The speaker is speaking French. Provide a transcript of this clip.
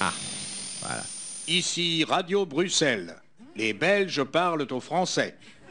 Ah, voilà. Ici Radio Bruxelles. Les Belges parlent au français.